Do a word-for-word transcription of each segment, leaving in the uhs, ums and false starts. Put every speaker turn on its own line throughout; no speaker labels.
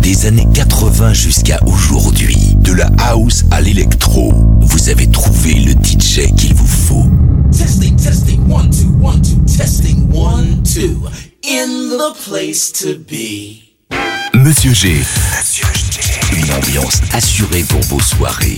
Des années quatre-vingts jusqu'à aujourd'hui, de la house à l'électro, vous avez trouvé le D J qu'il vous faut.
Testing, testing, one, two, one, two, testing, one, two, in the place to be.
Monsieur G. Monsieur G. Une ambiance assurée pour vos soirées.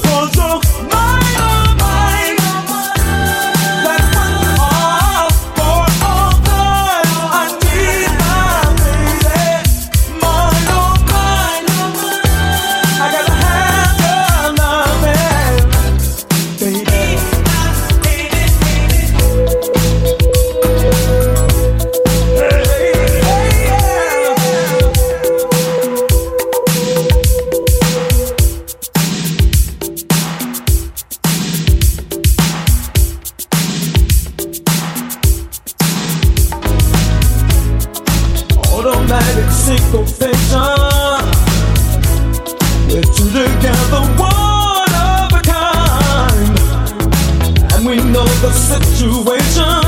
For perfect syncopation. We're two together, one of a kind, and we know the situation.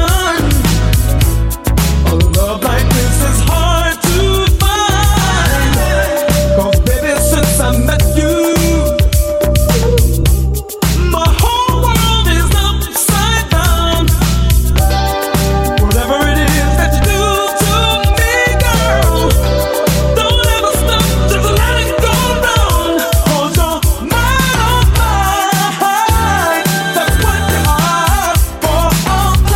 A love like this is hard to find. 'Cause baby, since I met you, my whole world is upside down. Whatever it is that you do to me, girl, don't ever stop, just let it go round. 'Cause you're mine, oh mine, that's what you are for all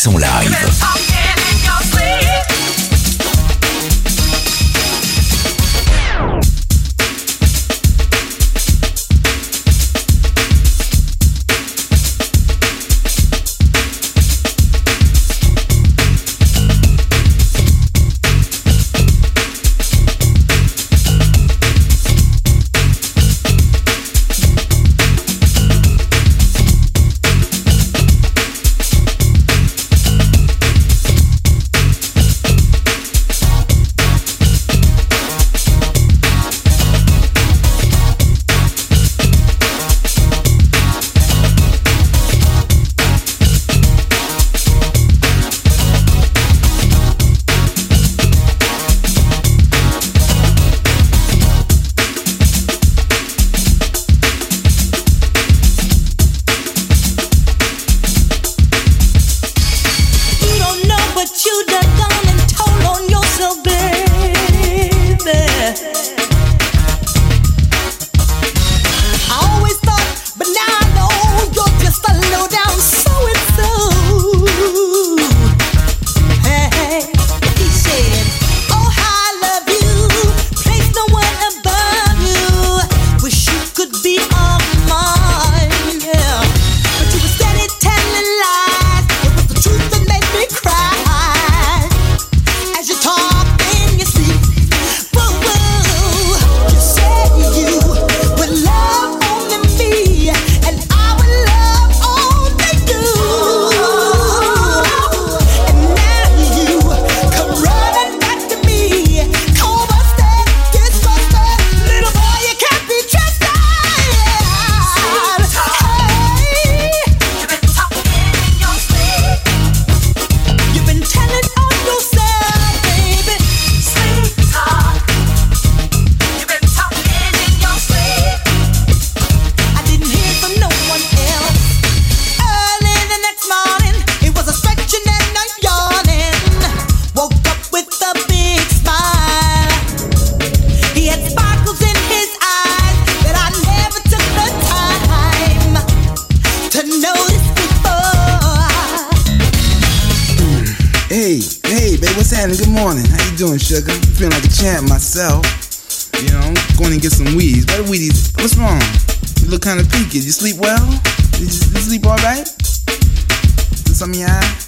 mix en live.
Good morning. How you doing, sugar? I'm feeling like a champ myself. You know, I'm going to get some weedies. What are weedies? What's wrong? You look kind of peaked. You sleep well? Did you, did you sleep all right? Is something in your eye?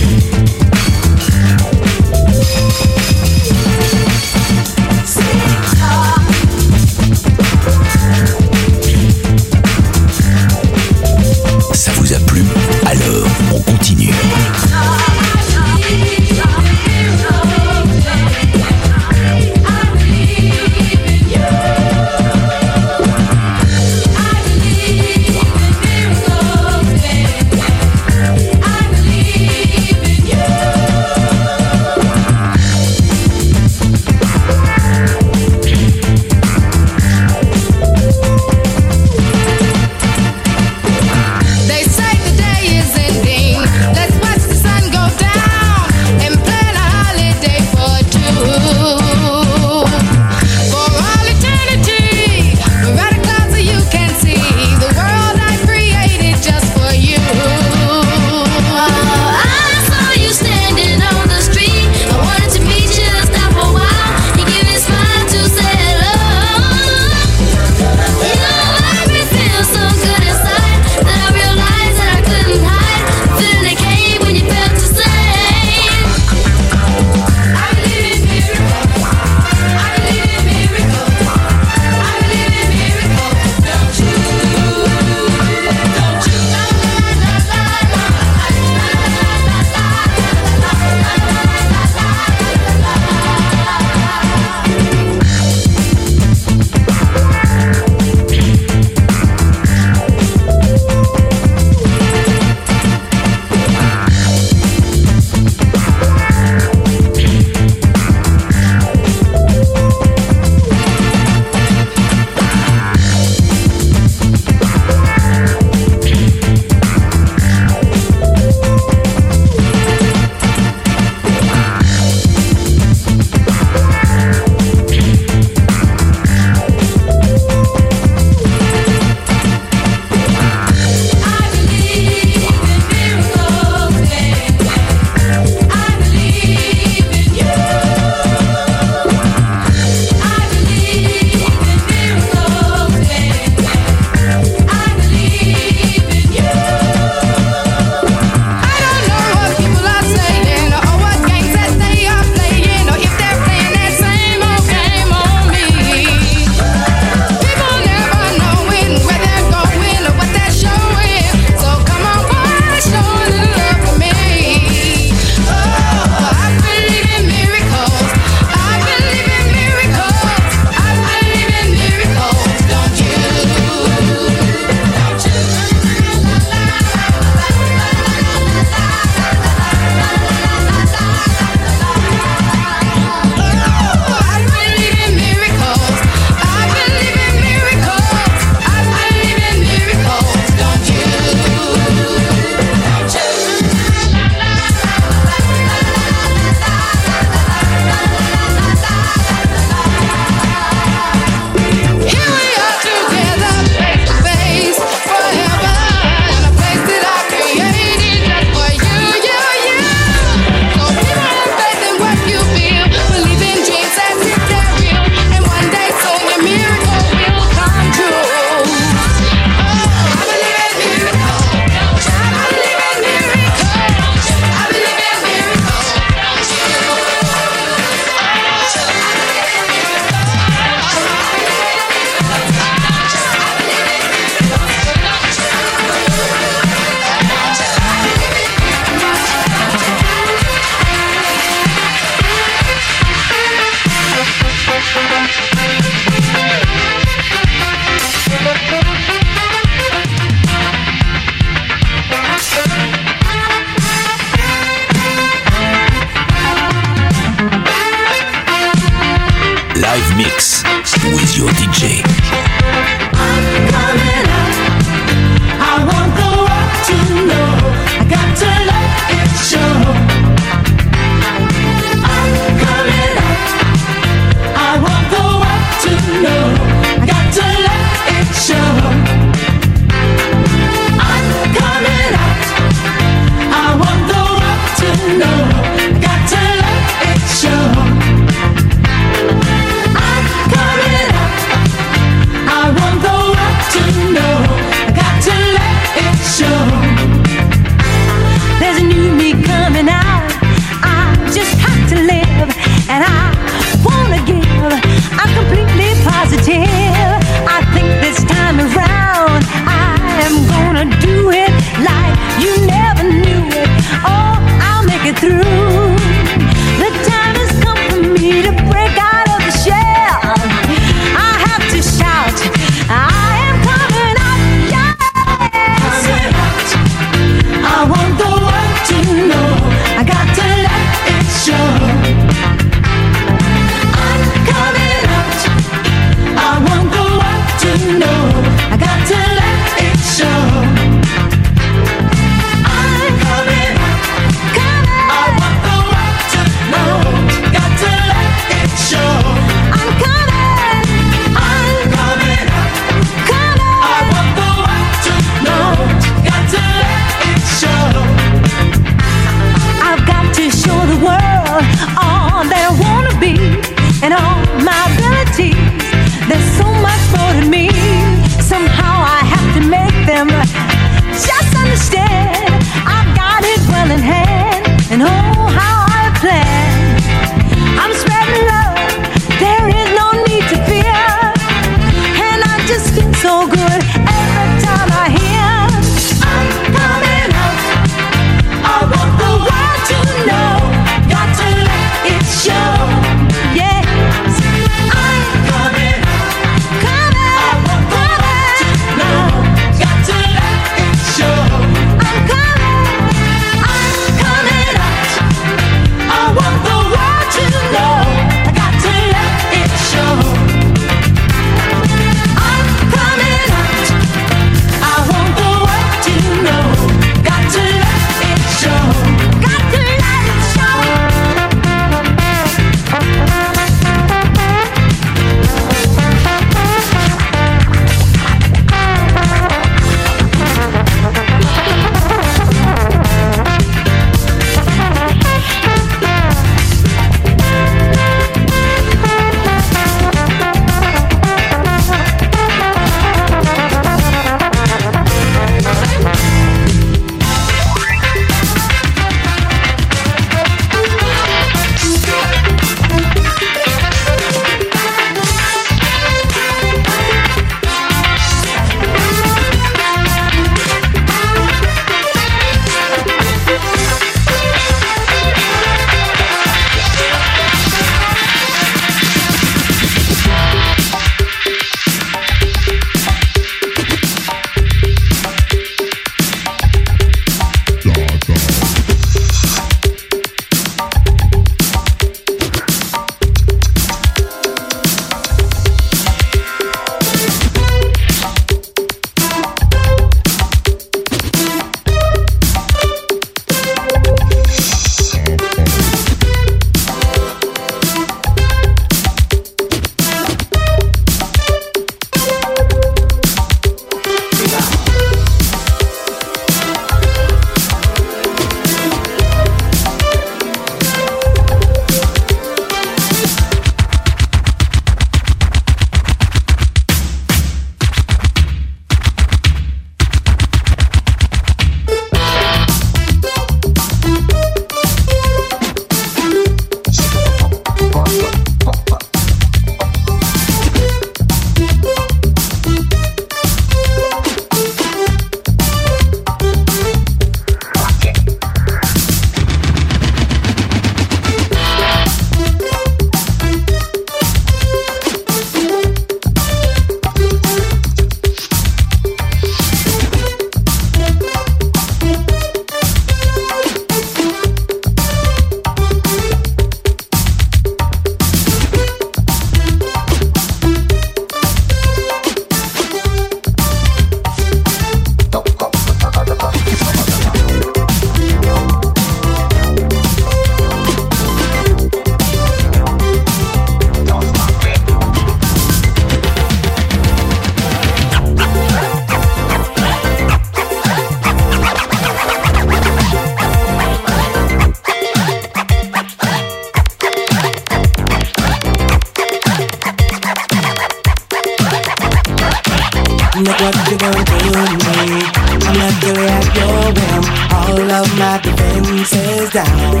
Look what you done to me. I'm naturally at your whim. All of my defenses down.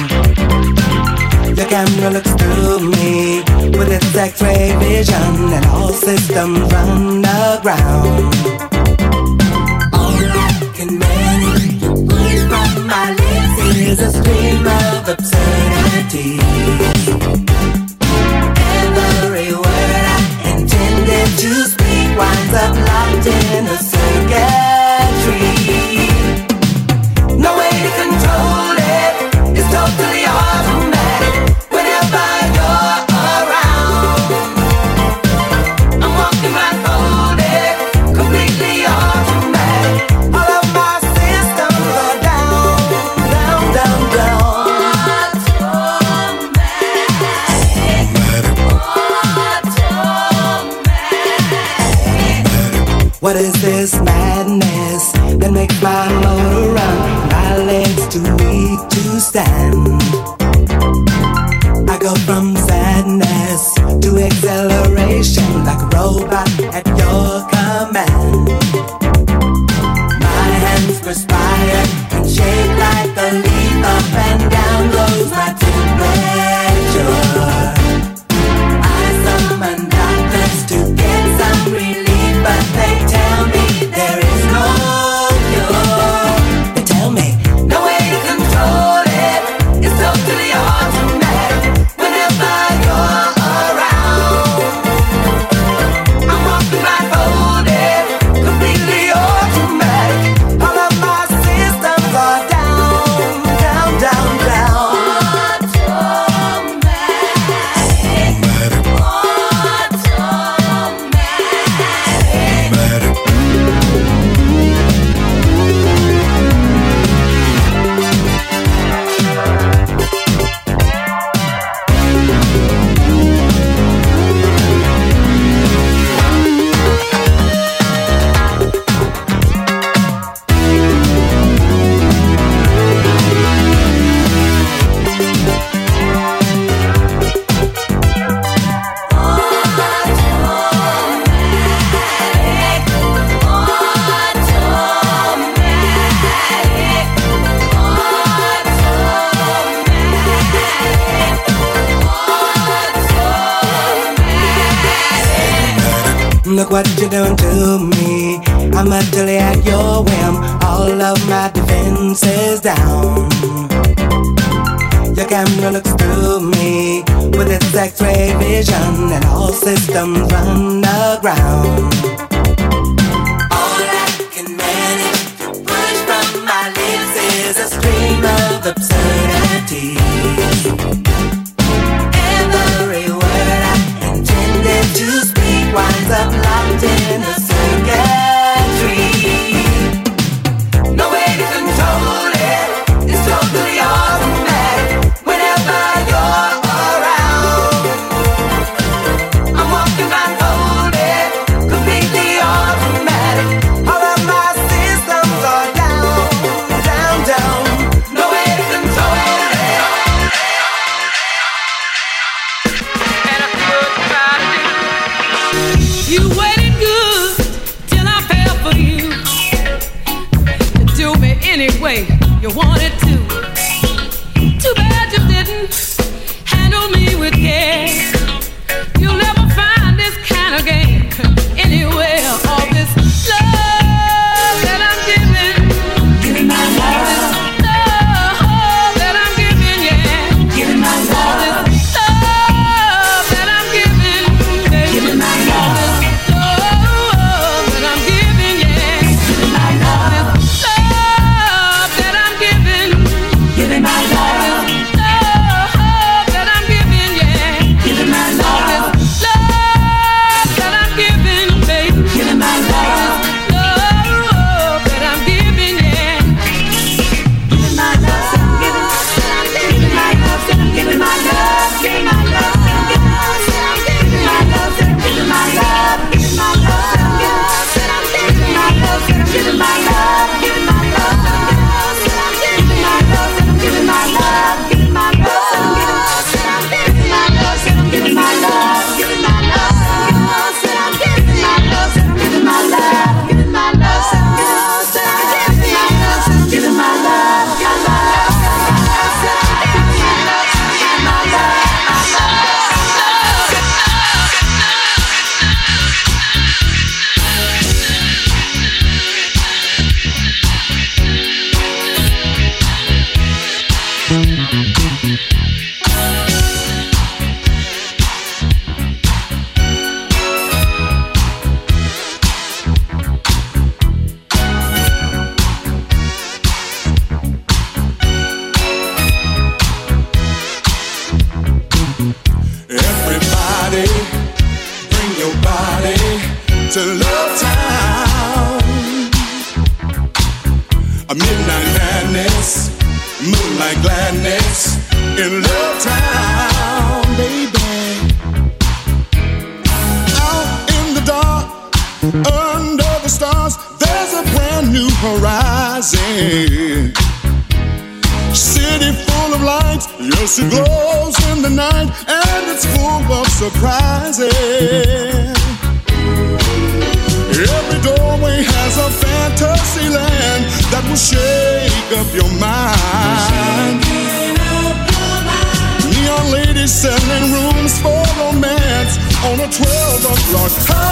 Your camera looks through me with its X-ray vision, and all systems run aground. All I can manage to push from my lips is a stream of absurdity. Every word I intended to speak winds up locked in a circuitry. No way to control it, it's totally automatic. Whenever you're around, I'm walking blindfolded, completely automatic. All of my systems are down, down, down, down. What is this madness that makes my motor run? My legs too weak to stand. I go from sadness to acceleration like a robot at your command. My hands perspire and shake like a leaf. Up and down goes my temperature. I summon doctors to get some relief, but they tell me there is no cure. They tell me no way to control it, it's totally automatic. Whenever you're around, I'm walking blindfolded, completely automatic. All of my systems are down, down, down, down. Look what you're doing to me. I'm utterly at your whim. All of my defenses down. Your camera looks through me with its X-ray vision, and all systems run aground. All I can manage to push from my lips is a stream of absurdity. Every word I intended to speak winds up locked in a circuitry. No way to control it, it's totally automatic. Whenever you're around, I'm walking blindfolded, completely automatic. All of my systems are down, down, down. No way to control it.
a midnight madness, moonlight gladness in Love Town, baby. Out in the dark, under the stars, there's a brand new horizon. City full of lights, yes it glows in the night, and it's full of surprises. Every doorway has a fantasy land that will shake up your mind. Neon ladies selling rooms for romance on a twelve o'clock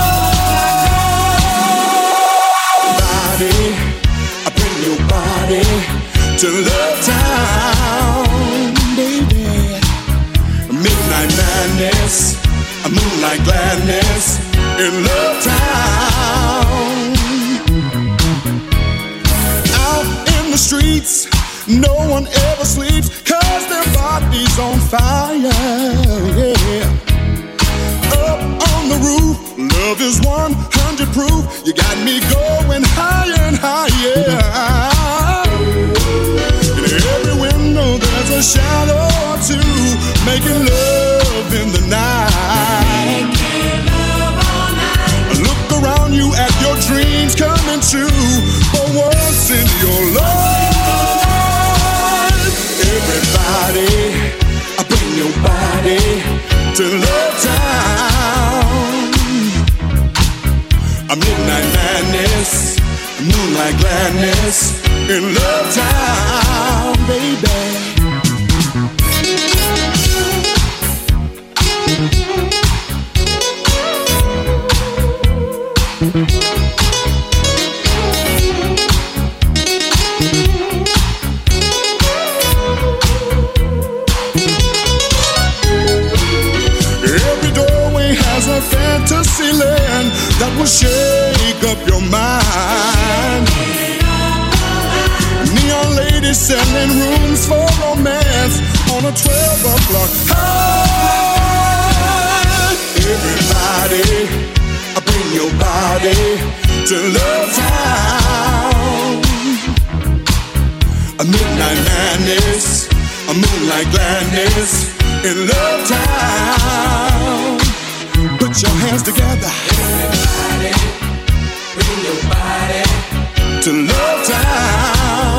body. I bring your body to Love Town, baby. Midnight madness, a moonlight gladness in Love Town. Out in the streets, no one ever sleeps, cause their body's on fire, yeah. Up on the roof, love is one hundred proof. You got me going higher and higher. In every window there's a shadow or two, making love in the night. Look around you at your dreams coming true, for once in your life. Everybody, I bring your body to Love Town. A midnight madness, moonlight gladness in Love Town, baby. Every doorway has a fantasy land that will shake up your mind. Neon ladies selling rooms for romance on a twelve o'clock high. Everybody, I bring your body to Love Town. A midnight madness, a moonlight gladness in Love Town. Put your hands together. Everybody, bring your body to Love Town.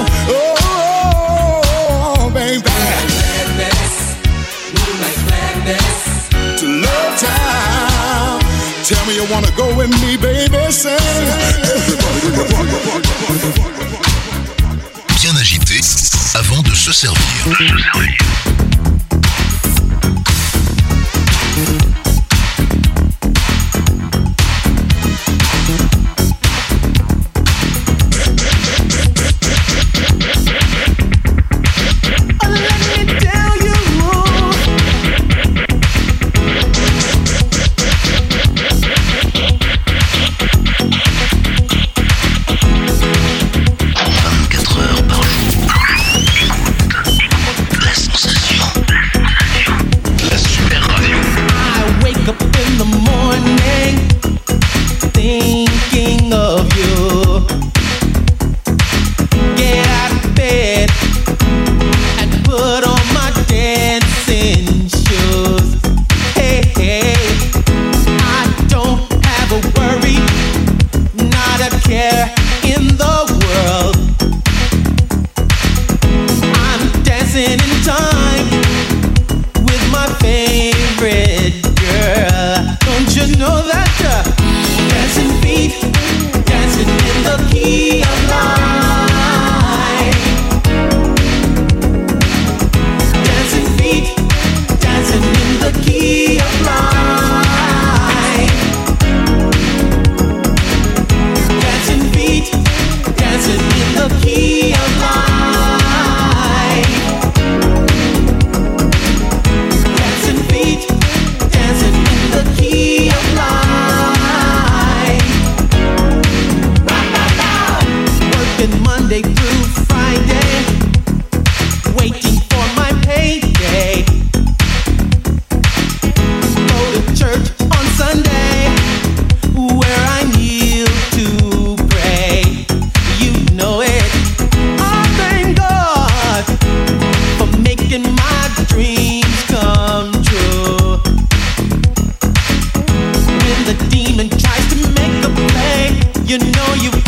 Oh, baby. Gladness, moonlight gladness to Love Town. Tell me you wanna go with me, baby. Say, everybody,
bien agité avant de se servir. De se servir.
Dancing feet
You know you've